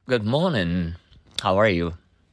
Good morning. How are you?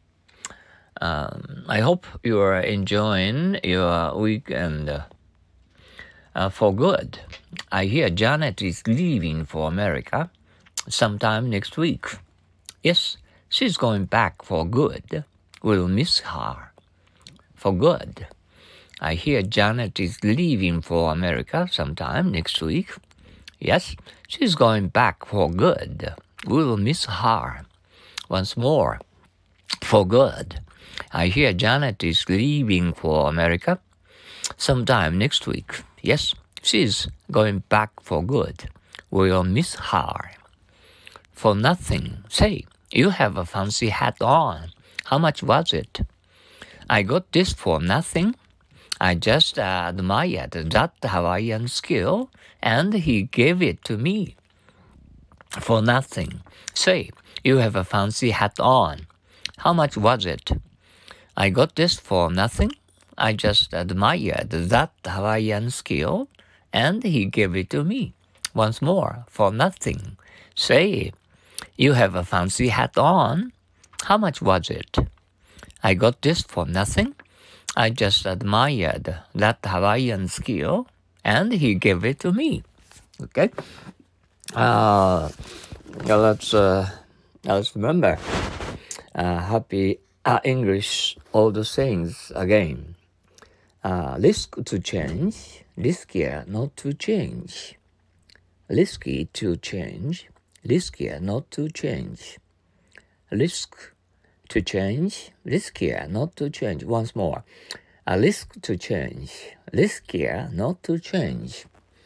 I hope you are enjoying your weekend for good. I hear Janet is leaving for America sometime next week. Yes, she's going back for good. We'll miss her for good. I hear Janet is leaving for America sometime next week. Yes, she's going back for good. We'll miss her once more for good. I hear Janet is leaving for America sometime next week. Yes, she's going back for good. We'll miss her for nothing. Say, you have a fancy hat on. How much was it? I got this for nothing. I just admired that Hawaiian skill, and he gave it to me for nothing. Say, you have a fancy hat on. How much was it? I got this for nothing. I just admired that Hawaiian skill, and he gave it to me once more for nothing. Say, you have a fancy hat on. How much was it? I got this for nothing. I just admired that Hawaiian skill, and he gave it to me. Okay? Let's remember. Happy English, all the things again. Risk to change, riskier not to change. Risky to change, riskier not to change. Risk to change, riskier not to change. Once more. A risk to change, riskier not to change.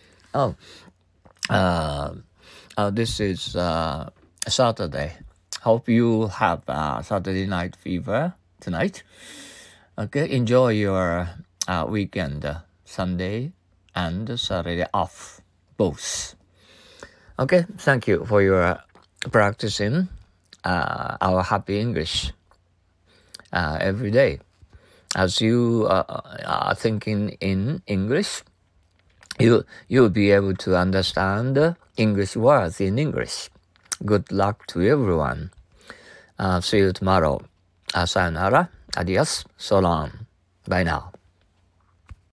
This is Saturday. Hope you have Saturday night fever tonight. Okay, enjoy your weekend, Sunday and Saturday off, both. Okay, thank you for your practicing our happy English every day. As you are thinking in English, you'll be able to understand English words in English. Good luck to everyone. See you tomorrow. Sayonara. Adios. So long. Bye now.